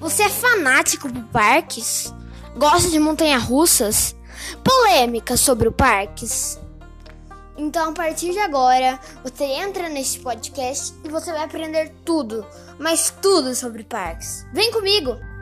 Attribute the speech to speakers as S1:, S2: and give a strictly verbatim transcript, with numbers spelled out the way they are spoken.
S1: Você é fanático por parques? Gosta de montanha-russas? Polêmicas sobre o parques? Então, a partir de agora, você entra neste podcast e você vai aprender tudo, mas tudo sobre parques. Vem comigo!